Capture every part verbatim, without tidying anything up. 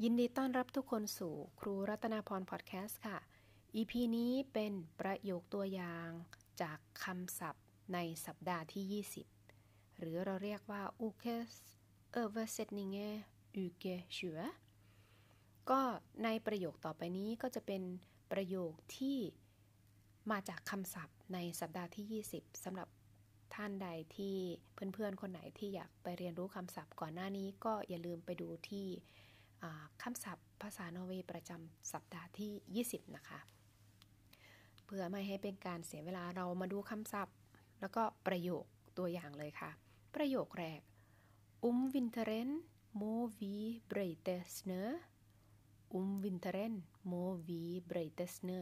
ยินดีต้อนรับทุกคนสู่ครูรัตนาพรพอดแคสต์ค่ะ อี พี นี้เป็นประโยคตัวอย่างจากคำศัพท์ในสัปดาห์ที่ยี่สิบหรือเราเรียกว่า ukes översättningar uke tjue ก็ในประโยคต่อไปนี้ก็จะเป็นประโยคที่มาจากคำศัพท์ในสัปดาห์ที่ยี่สิบสำหรับท่านใดที่เพื่อนๆคนไหนที่อยากไปเรียนรู้คำศัพท์ก่อนหน้านี้ก็อย่าลืมไปดูที่คำศัพท์ภาษานอร์เวย์ประจำสัปดาห์ที่ยี่สิบนะคะเพื่อไม่ให้เป็นการเสียเวลาเรามาดูคำศัพท์แล้วก็ประโยคตัวอย่างเลยค่ะประโยคแรก Om vinteren må vi brøyte snø Om vinteren må vi brøyte snø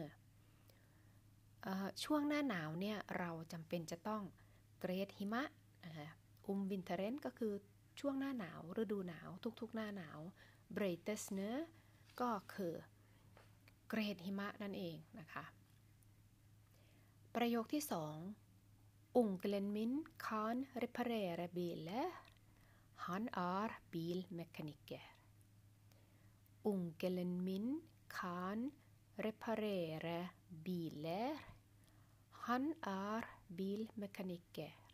ช่วงหน้าหนาวเนี่ยเราจำเป็นจะต้องเกรดหิมะอุมวินเทเรนก็คือช่วงหน้าหนาวฤดูหนาวทุกๆหน้าหนาวเบรเตสเนอร์ก็คือเกรดหิมะนั่นเองนะคะประโยคที่สองอุงเกลนมินคานรีพาเรเรบิลฮันอาร์บิลเมคานิกเกอร์อุงเกลนมินคานรีพาเรเรบิลฮันอาร์บิลเมคานิกเกอร์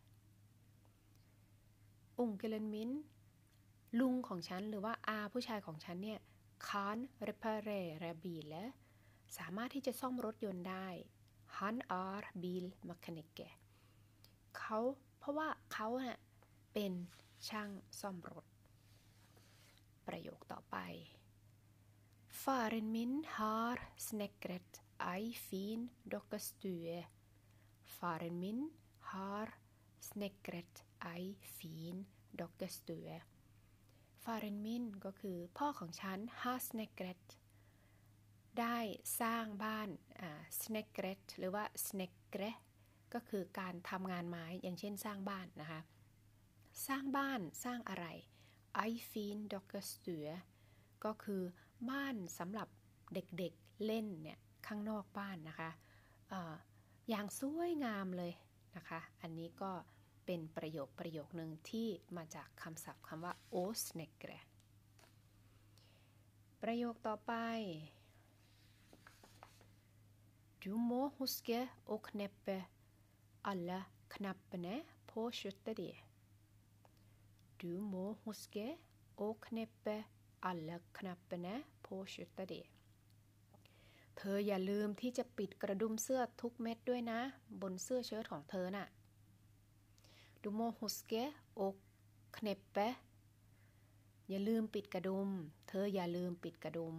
อุงเกลนมินลุงของฉันหรือว่าอาผู้ชายของฉันเนี่ยคานเรปาเรเรบิลสามารถที่จะซ่อมรถยนต์ได้ฮันอาร์บิลมคานิกเกเขาเพราะว่าเขาน่ะเป็นช่างซ่อมรถประโยคต่อไป Faren min har snekret ei fin dokkestue Faren min har snekret ei fin dokkestueฟาเรนมินก็คือพ่อของฉันฮาสเนเกรตได้สร้างบ้านอ่าสเนเกรตหรือว่าสเนเกรก็คือการทำงานไม้อย่างเช่นสร้างบ้านนะคะสร้างบ้านสร้างอะไรไอฟินด็อกเกอร์สตูก็คือบ้านสำหรับเด็กๆเล่นเนี่ยข้างนอกบ้านนะคะอ่าอย่างสวยงามเลยนะคะอันนี้ก็เป็นประโยคประโยคนึงที่มาจากคำศัพท์คำว่า o snekre ประโยคต่อไป Du må huske å kneppe alle knappene på skjorta di Du må huske å kneppe alle knappene på skjorta di เธออย่าลืมที่จะปิดกระดุมเสื้อทุกเม็ดด้วยนะบนเสื้อเชิ้ตของเธอน่ะDu må huske å kneppe อย่าลืมปิดกระดุมเธออย่าลืมปิดกระดุม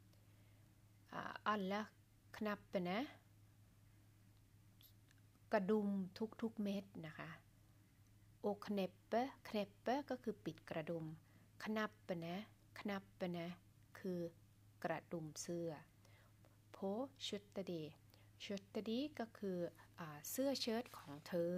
alla knappene กระดุมทุกๆเม็ดนะคะ å kneppe kneppe ก็คือปิดกระดุม knappene knappene คือกระดุมเสื้อ på skjorta di skjorta di ก็คือเสื้อเชิ้ตของเธอ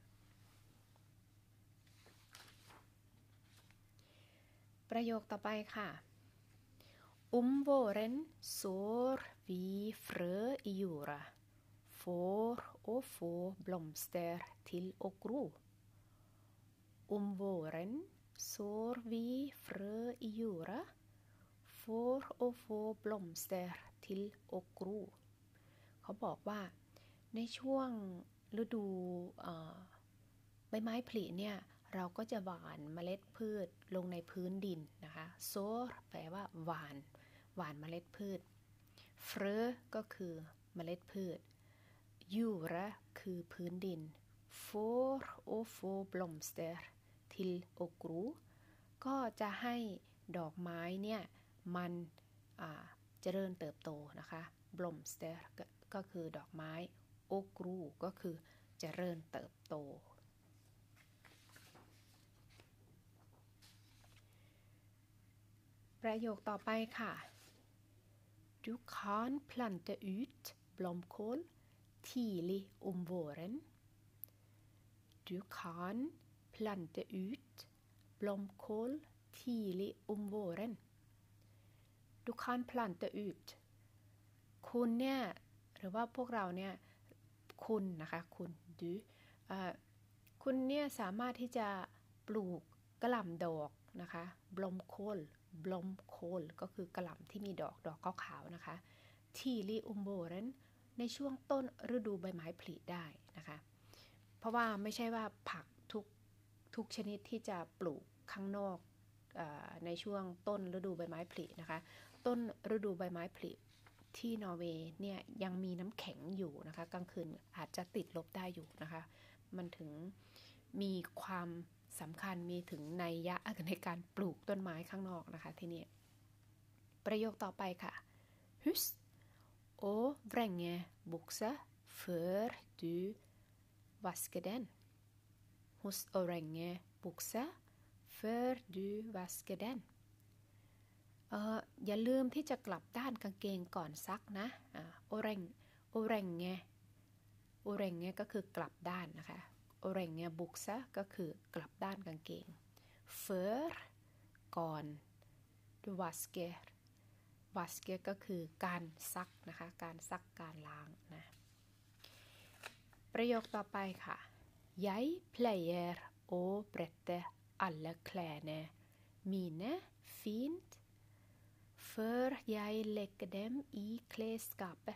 ประโยคต่อไปค่ะ Om våren sår vi frø i jorda for å få blomster til å gro. Om våren sår vi frø i jorda for å få blomster til å gro. เขาบอกว่าในช่วงฤดูใบไม้ผลิเนี่ยเราก็จะหว่านเมล็ดพืชลงในพื้นดินนะคะโซร์แปลว่าหว่านหว่านเมล็ดพืชเฟรอก็คือเมล็ดพืชยูระคือพื้นดินโฟร์โอโฟบลอมสเตอร์ทิลโอกรูก็จะให้ดอกไม้เนี่ยมันเจริญเติบโตนะคะบลอมสเตอร์ก็คือดอกไม้โอกรูก็คือเจริญเติบโตประโยคต่อไปค่ะ Du kan plante ut blomkål tidlig om våren. Du kan plante ut blomkål tidlig om våren. Du kan plante ut คุณเนี่ยหรือว่าพวกเราเนี่ยคุณนะคะคุณ du คุณเนี่ยสามารถที่จะปลูกกระหล่ำดอกนะคะบลอมโคลบลอมโคลก็คือกระหล่ำที่มีดอกดอกขาวๆนะคะทีลีอุมโบเรนในช่วงต้นฤดูใบไม้ผลิได้นะคะเพราะว่าไม่ใช่ว่าผักทุกทุกชนิดที่จะปลูกข้างนอกในช่วงต้นฤดูใบไม้ผลินะคะต้นฤดูใบไม้ผลิที่นอร์เวย์เนี่ยยังมีน้ำแข็งอยู่นะคะกลางคืนอาจจะติดลบได้อยู่นะคะมันถึงมีความสำคัญมีถึงนัยยะในการปลูกต้นไม้ข้างนอกนะคะที่นี่ประโยคต่อไปค่ะ Hus og vrenge bukser før du vasker den Husk å vrenge bukser før du vasker den เอ่ออย่าลืมที่จะกลับด้านกางเกงก่อนซักนะอ่าโอเรงโอเรงไงโอเรงไงก็คือกลับด้านนะคะโอเรงไงบุกซะก็คือกลับด้านกางเกง för ก่อน vasker vasker ก็คือการซักนะคะการซักการล้างนะประโยคต่อไปค่ะ jeg pleier å brette alle klærne mine fint før jeg legger dem i klesskapet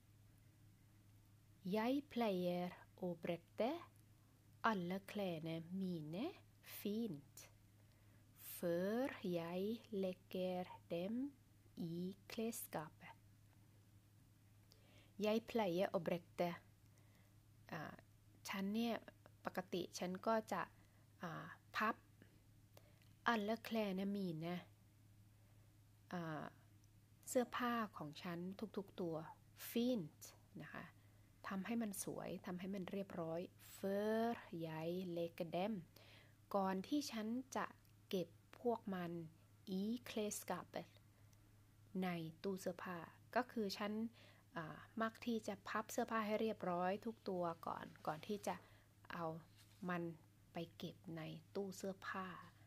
jeg pleier å brette alle klærne mine fint før jeg legger dem i klesskapet jeg pleier å bretteฉันเนี่ยปกติฉันก็จะพับอัลเลแคลนมีนนะเสื้อผ้าของฉันทุกๆตัวฟินต์นะคะทำให้มันสวยทำให้มันเรียบร้อยเฟอร์ไยเลกเดมก่อนที่ฉันจะเก็บพวกมันอีเคลสกาเปในตู้เสื้อผ้าก็คือฉันมักที่จะพับเสื้อผ้าให้เรียบร้อยทุกตัวก่อนก่อนที่จะเอามันไปเก็บในตู้เสื้อผ้า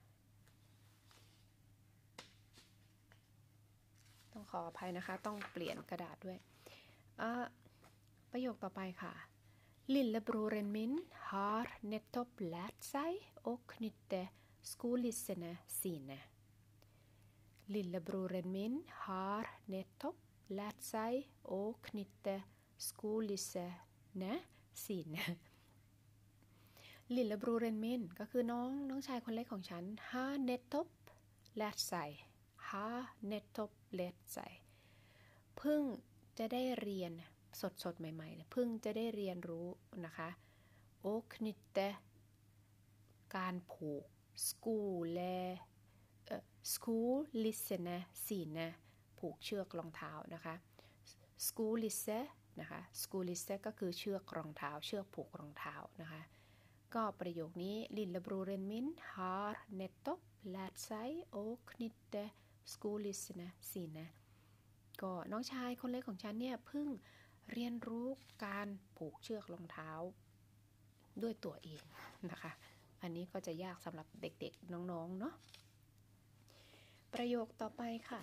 ต้องขออภัยนะคะต้องเปลี่ยนกระดาษด้วยประโยคต่อไปค่ะ Lillebroren min har nettopp lært seg å knytte skolissene sine Lillebroren min har nettopp lært seg å knytte skolissene sine Lillebroren min ก็คือน้องน้องชายคนเล็กของฉัน har nettopp lært seg har nettopp lært seg เพิ่งจะได้เรียนสดสดใหม่ๆเพิ่งจะได้เรียนรู้นะคะโอคนิเตการผูกสกูเลสกูลิเซเนสีนะผูกเชือกรองเท้านะคะสกูลิเซนะคะสกูลิเซก็คือเชือกรองเท้าเชือกผูกรองเท้านะคะก็ประโยคนี้ลิลเลบรูเรนมินฮาร์เนตโตแลดไซโอคนิเตสกูลิเซเนสีนะก็น้องชายคนเล็กของฉันเนี่ยเพิ่งเรียนรู้การผูกเชือกรองเท้าด้วยตัวเองนะคะอันนี้ก็จะยากสำหรับเด็กๆน้องๆเนาะประโยคต่อไปค่ะ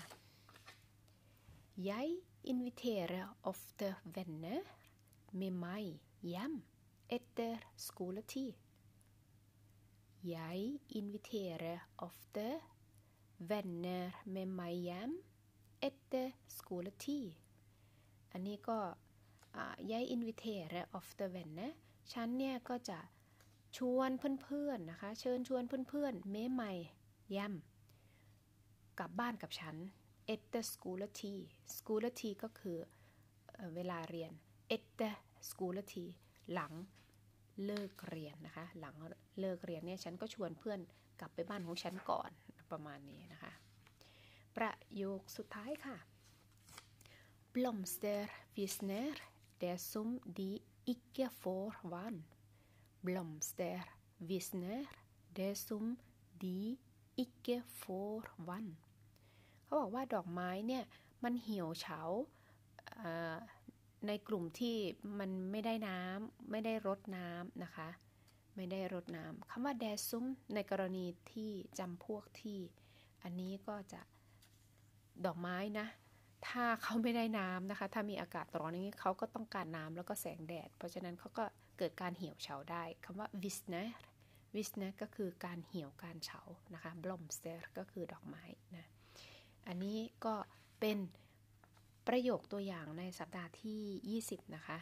Jeg inviterer ofte venner med meg hjem etter skoletid Jeg inviterer ofte venner med meg hjem etter skoletidอันนี้ก็jeg inviterer ofte venner ฉันเนี่ยก็จะชวนเพื่อนๆนะคะเชิญชวนเพื่อนๆ med mig hjem กลับบ้านกับฉัน efter skoletid skoletid ก็คือเวลาเรียน efter skoletid หลังเลิกเรียนนะคะหลังเลิกเรียนเนี่ยฉันก็ชวนเพื่อนกลับไปบ้านของฉันก่อนประมาณนี้นะคะประโยคสุดท้ายค่ะBlomster visner det som de ikke får vann. Blomster visner det som de ikke får vann. เขาบอกว่าดอกไม้เนี่ยมันเหี่ยวเฉาในกลุ่มที่มันไม่ได้น้ำไม่ได้รดน้ำนะคะไม่ได้รดน้ำคำว่า det som ในกรณีที่จำพวกที่อันนี้ก็จะดอกไม้นะถ้าเขาไม่ได้น้ำนะคะถ้ามีอากาศร้อนอย่างนี้เขาก็ต้องการน้ำแล้วก็แสงแดดเพราะฉะนั้นเขาก็เกิดการเหี่ยวเฉาได้คำว่า visner visner ก็คือการเหี่ยวการเฉานะคะ blomster ก็คือดอกไม้นะอันนี้ก็เป็นประโยคตัวอย่างในสัปดาห์ที่ยี่สิบนะคะ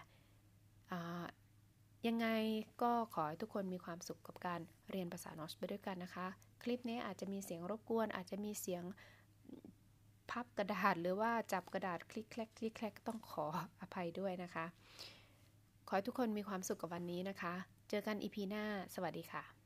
ยังไงก็ขอให้ทุกคนมีความสุขกับการเรียนภาษานอร์สไปด้วยกันนะคะคลิปนี้อาจจะมีเสียงรบกวนอาจจะมีเสียงพับกระดาษหรือว่าจับกระดาษคลิกแคลกคลิกแคลกต้องขออภัยด้วยนะคะขอให้ทุกคนมีความสุขกับวันนี้นะคะเจอกัน อี พี หน้าสวัสดีค่ะ